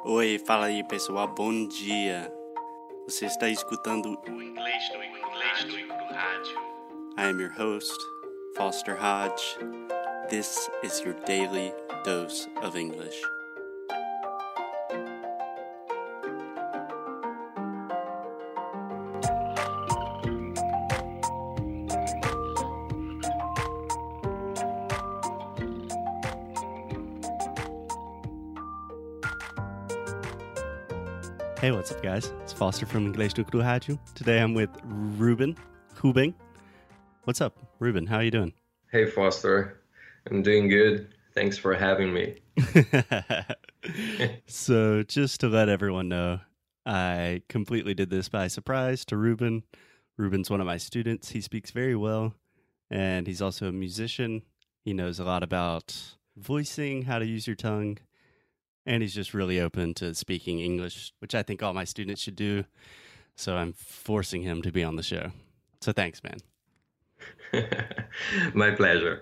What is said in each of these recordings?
Oi, fala aí pessoal, bom dia. Você está escutando o Inglês do Rádio. I am your host, Foster Hodge. This is your daily dose of English. Hey, what's up, guys? It's Foster from Inglês do Rádio. Today I'm with Ruben Hubing. What's up, Ruben? How are you doing? Hey, Foster. I'm doing good. Thanks for having me. So, just to let everyone know, I completely did this by surprise to Ruben. Ruben's one of my students. He speaks very well, and he's also a musician. He knows a lot about voicing, how to use your tongue, and he's just really open to speaking English, which I think all my students should do. So I'm forcing him to be on the show. So thanks, man. My pleasure.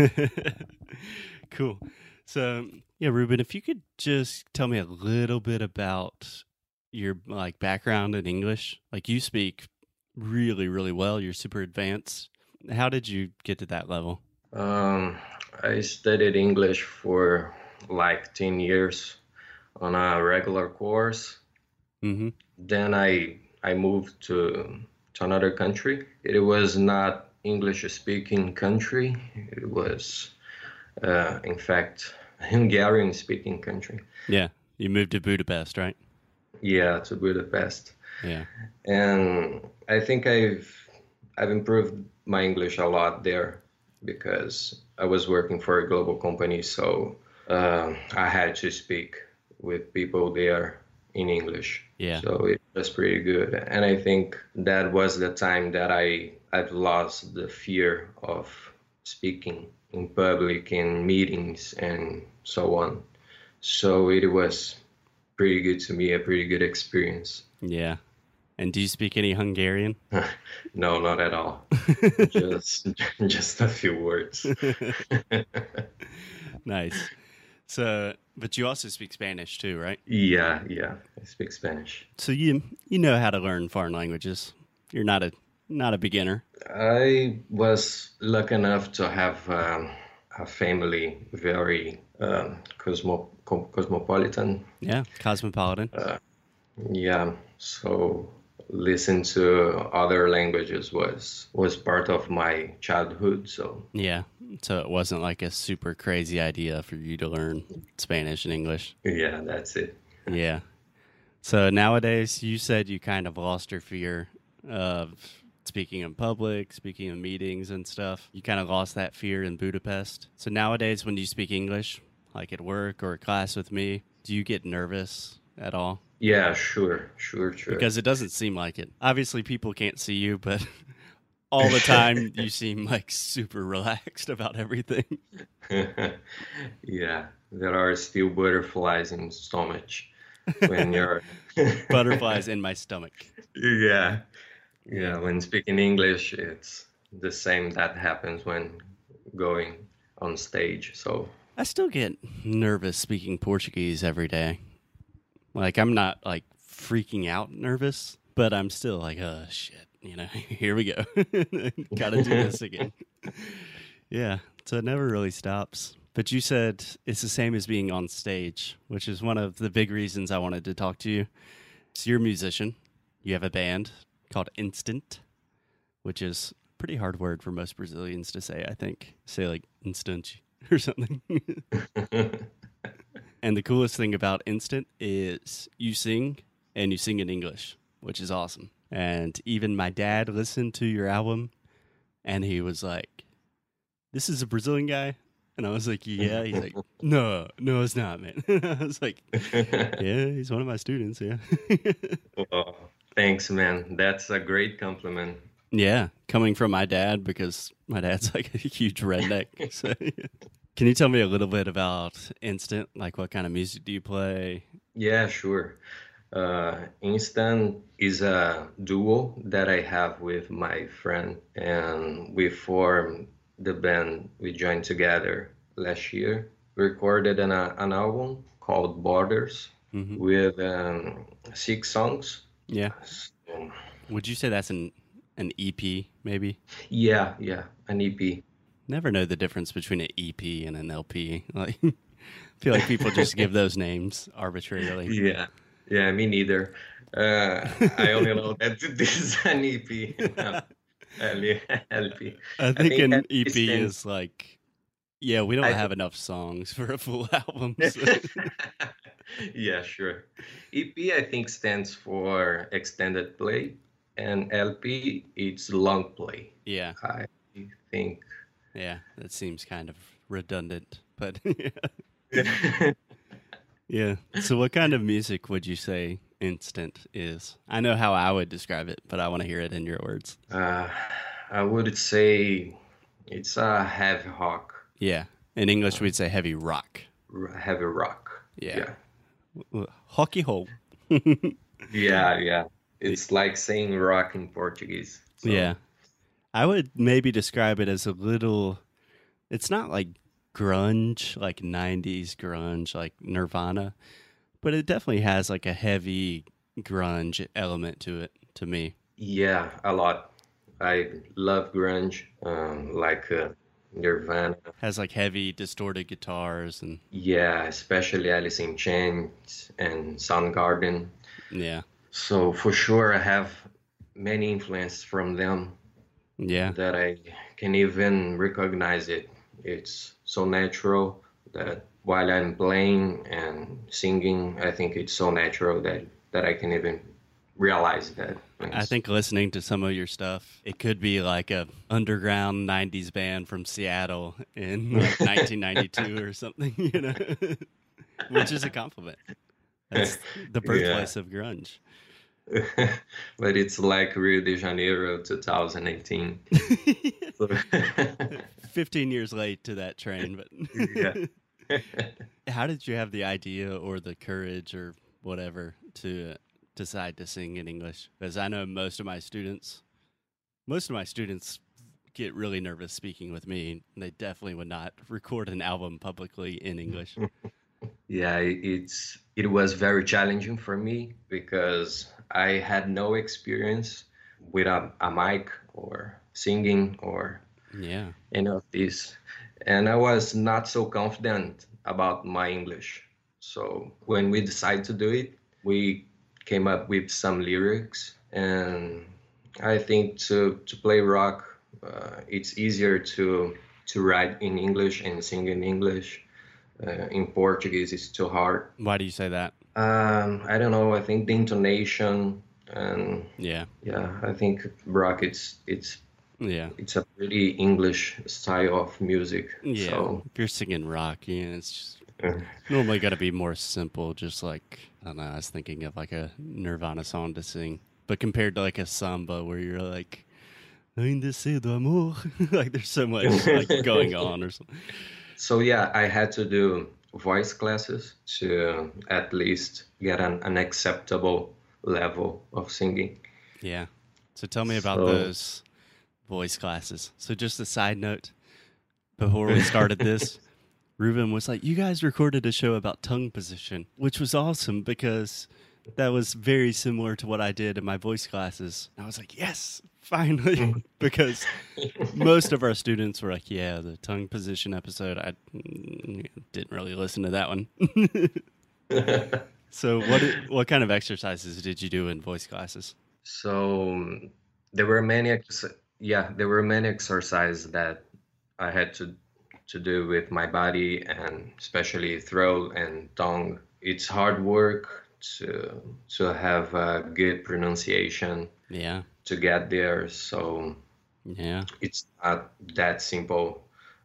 Cool. So, yeah, Ruben, if you could just tell me a little bit about your background in English. Like, you speak really, really well. You're super advanced. How did you get to that level? I studied English for like 10 years on a regular course. Mm-hmm. Then I moved to another country. It was not English-speaking country. It was, in fact, a Hungarian-speaking country. Yeah, you moved to Budapest, right? Yeah, to Budapest. Yeah. And I think I've improved my English a lot there because I was working for a global company, so I had to speak with people there in English. Yeah. So it was pretty good. And I think that was the time that I've lost the fear of speaking in public, in meetings, and so on. So it was pretty good to me, a pretty good experience. Yeah. And do you speak any Hungarian? No, not at all. just a few words. Nice. So, but you also speak Spanish too, right? Yeah, I speak Spanish. So you know how to learn foreign languages. You're not a beginner. I was lucky enough to have a family very cosmopolitan. Yeah, cosmopolitan. Yeah, so listen to other languages was part of my childhood. So yeah, so it wasn't like a super crazy idea for you to learn Spanish and English. Yeah, that's it. Yeah. So nowadays, you said you kind of lost your fear of speaking in public, speaking in meetings and stuff. You kind of lost that fear in Budapest. So nowadays, when you speak English, like at work or class with me, do you get nervous at all? Yeah, sure. Because it doesn't seem like it. Obviously, people can't see you, but all the time you seem like super relaxed about everything. Yeah, there are still butterflies in stomach when you're butterflies in my stomach. Yeah, when speaking English, it's the same that happens when going on stage. So I still get nervous speaking Portuguese every day. Like, I'm not like freaking out nervous, but I'm still like, oh shit, here we go. Gotta do this again. Yeah, so it never really stops. But you said it's the same as being on stage, which is one of the big reasons I wanted to talk to you. So you're a musician. You have a band called Instant, which is a pretty hard word for most Brazilians to say, I think. Say like instant or something. And the coolest thing about Instant is you sing, and you sing in English, which is awesome. And even my dad listened to your album, and he was like, this is a Brazilian guy? And I was like, yeah. He's like, no, it's not, man. I was like, yeah, he's one of my students, yeah. Oh, thanks, man. That's a great compliment. Yeah, coming from my dad, because my dad's like a huge redneck. So, yeah. Can you tell me a little bit about Instant? Like, what kind of music do you play? Yeah, sure. Instant is a duo that I have with my friend, and we formed the band. We joined together last year. We recorded an album called Borders with 6 songs. Yeah. So, Would you say that's an EP, maybe? yeah, an EP. Never know the difference between an EP and an LP. Like, I feel like people just give those names arbitrarily. Yeah, me neither. I only know that this is an EP, not LP. I I think think an LP EP stands. is like, yeah, we don't I have enough songs for a full album. So. Yeah, sure. EP I think stands for extended play, and LP it's long play. Yeah, I think. yeah, that seems kind of redundant, but uh, yeah. So, what kind of music would you say Instant is? I know how I would describe it, but I want to hear it in your words. I would say it's a heavy rock. Yeah, in English we'd say heavy rock. Heavy rock. Yeah. Hockey hole. Yeah. It's like saying rock in Portuguese. So. Yeah. I would maybe describe it as a little, it's not like grunge, like 90s grunge, like Nirvana, but it definitely has like a heavy grunge element to it, to me. Yeah, a lot. I love grunge, like Nirvana. Has like heavy distorted guitars and Yeah, especially Alice in Chains and Soundgarden. yeah. So for sure, I have many influences from them Yeah. that I can even recognize it. It's so natural that while I'm playing and singing, I think it's so natural that I can even realize that. I think listening to some of your stuff, it could be like a underground 90s band from Seattle in like 1992 or something, you know, which is a compliment. That's the birthplace of grunge. But it's like Rio de Janeiro 2018. 15 years late to that train, but Yeah. how did you have the idea or the courage or whatever to decide to sing in English? Because I know most of my students get really nervous speaking with me. And they definitely would not record an album publicly in English. Yeah, it was very challenging for me because I had no experience with a mic or singing or Yeah. any of this. And I was not so confident about my English. So when we decided to do it, we came up with some lyrics. And I think to play rock, it's easier to write in English and sing in English. In Portuguese, it's too hard. Why do you say that? I don't know. I think the intonation and Yeah. I think rock Yeah. it's a pretty English style of music. Yeah. So If you're singing rock, yeah, it's just uh, normally got to be more simple. Just like, I don't know, I was thinking of like a Nirvana song to sing. But compared to like a samba where you're like, ainda cedo amor. Like there's so much like going on or something. so yeah, I had to do voice classes to at least get an acceptable level of singing. Yeah. So tell me about So those voice classes. So just a side note, before we started this, Ruben was like, you guys recorded a show about tongue position, which was awesome because that was very similar to what I did in my voice classes. And I was like, yes, finally, because most of our students were like, yeah, the tongue position episode, I didn't really listen to that one. So what kind of exercises did you do in voice classes? so there were there were many exercises that I had to do with my body and especially throat and tongue. It's hard work to have a good pronunciation Yeah. to get there. So Yeah. it's not that simple.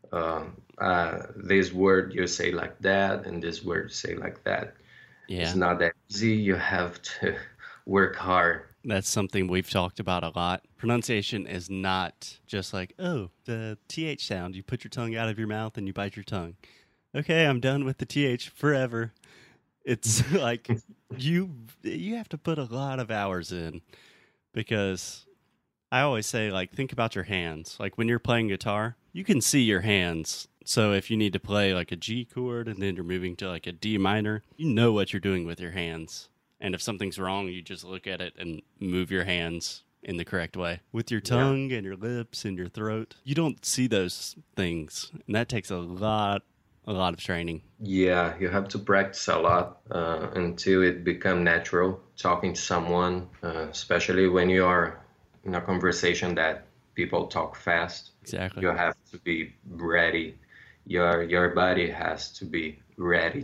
This word you say like that, and this word you say like that. It's Yeah. not that easy. You have to work hard. That's something we've talked about a lot. Pronunciation is not just like, oh, the TH sound. You put your tongue out of your mouth and you bite your tongue. Okay, I'm done with the TH forever. It's like you have to put a lot of hours in because I always say, like, think about your hands. Like when you're playing guitar, you can see your hands So if you need to play like a G chord and then you're moving to like a D minor, you know what you're doing with your hands. And if something's wrong, you just look at it and move your hands in the correct way. With your tongue and your lips and your throat, you don't see those things. And that takes a lot of training. Yeah, you have to practice a lot until it become natural talking to someone, especially when you are in a conversation that people talk fast. Exactly. You have to be ready. Your body has to be ready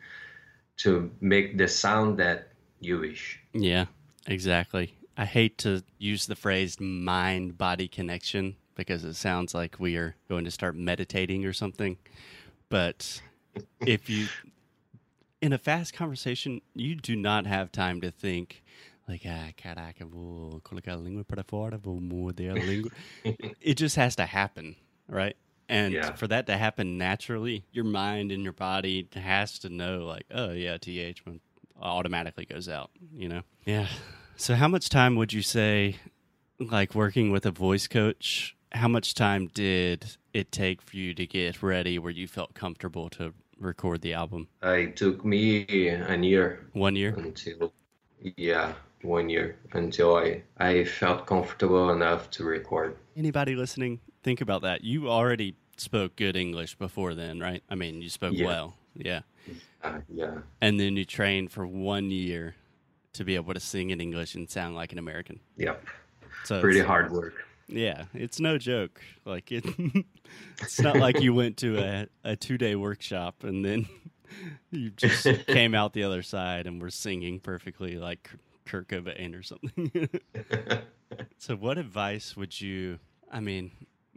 to make the sound that you wish. Yeah, exactly. I hate to use the phrase mind-body connection because it sounds like we are going to start meditating or something. But if you, in a fast conversation, you do not have time to think like, caraca, vou colocar a língua para fora, vou morder a língua. It just has to happen, right? And for that to happen naturally, your mind and your body has to know like, oh yeah, TH automatically goes out, you know? Yeah. So how much time would you say, like working with a voice coach, how much time did it take for you to get ready where you felt comfortable to record the album? It took me a year. 1 year? Until, 1 year until I felt comfortable enough to record. Anybody listening, think about that. You already spoke good English before then, right? I mean, you spoke well. Yeah. Yeah. And then you trained for 1 year to be able to sing in English and sound like an American. Yep. So pretty hard work. Yeah, it's no joke. Like it's not like you went to a 2-day workshop and then you just came out the other side and were singing perfectly like Kurt Cobain or something. So what advice would you, I mean,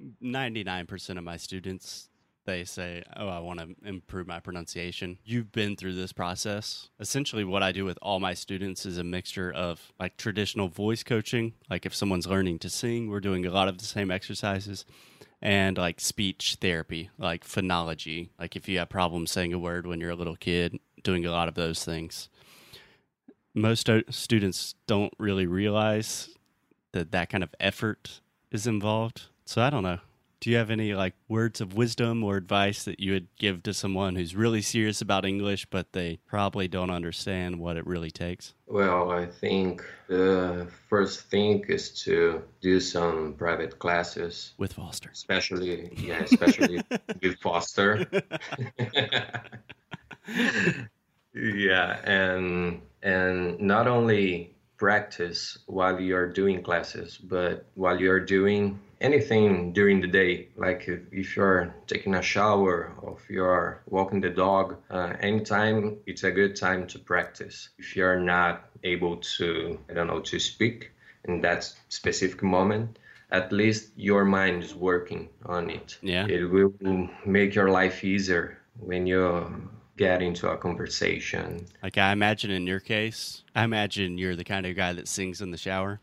99% of my students, they say, oh, I want to improve my pronunciation. You've been through this process. Essentially, what I do with all my students is a mixture of like traditional voice coaching. Like if someone's learning to sing, we're doing a lot of the same exercises. And like speech therapy, like phonology. Like if you have problems saying a word when you're a little kid, doing a lot of those things. Most students don't really realize that kind of effort is involved. So I don't know. Do you have any like words of wisdom or advice that you would give to someone who's really serious about English, but they probably don't understand what it really takes? Well, I think the first thing is to do some private classes. With Foster. Especially with Foster. Yeah, and not only practice while you're doing classes, but while you're doing anything during the day, like if you're taking a shower or if you're walking the dog, anytime it's a good time to practice. If you're not able to, to speak in that specific moment, at least your mind is working on it. Yeah. It will make your life easier when you get into a conversation. Like I imagine in your case, I imagine you're the kind of guy that sings in the shower.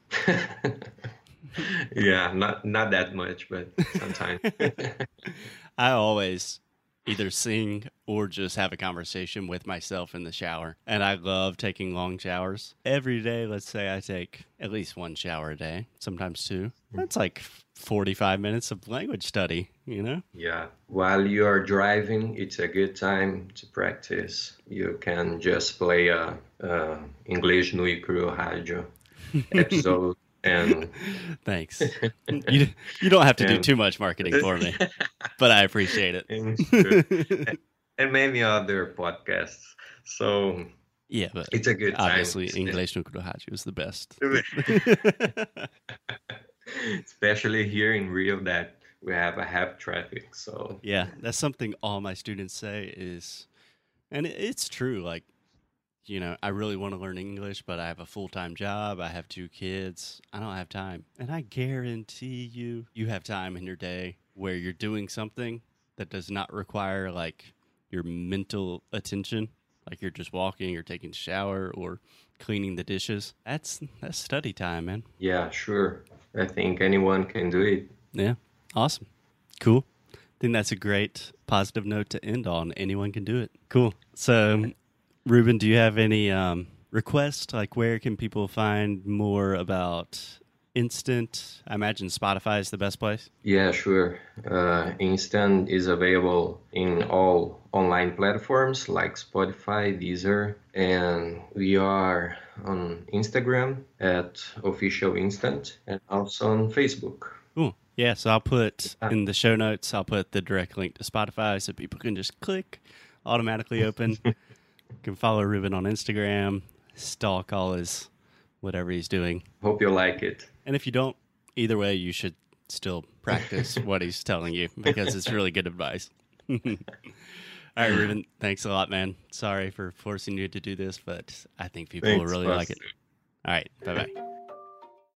Yeah, not that much, but sometimes. I always either sing or just have a conversation with myself in the shower. And I love taking long showers. Every day, let's say I take at least one shower a day, sometimes two. That's like 45 minutes of language study, you know? Yeah. While you are driving, it's a good time to practice. You can just play a Inglês no Cru Rádio episode. And thanks. You don't have to do too much marketing for me, but I appreciate it. And many other podcasts. So yeah, but it's a good time. Obviously, Inglês no Cru Rádio is the best. Especially here in Rio that we have a heavy traffic. So yeah, that's something all my students say is, and it's true. Like, you know, I really want to learn English, but I have a full-time job. I have 2 kids. I don't have time. And I guarantee you have time in your day where you're doing something that does not require like your mental attention. Like you're just walking or taking a shower or cleaning the dishes. That's study time, man. Yeah, sure. I think anyone can do it. Yeah. Awesome. Cool. I think that's a great positive note to end on. Anyone can do it. Cool. So, Ruben, do you have any requests? Like, where can people find more about Instant? I imagine Spotify is the best place. Yeah, sure. Instant is available in all online platforms like Spotify, Deezer, and we are on Instagram at Official Instant and also on Facebook. Cool. Yeah, so I'll put in the show notes, I'll put the direct link to Spotify so people can just click, automatically open. You can follow Ruben on Instagram, stalk all his whatever he's doing. Hope you like it. And if you don't, either way, you should still practice what he's telling you because it's really good advice. All right, Ruben, thanks a lot, man. Sorry for forcing you to do this, but I think people will really like it. All right, bye-bye.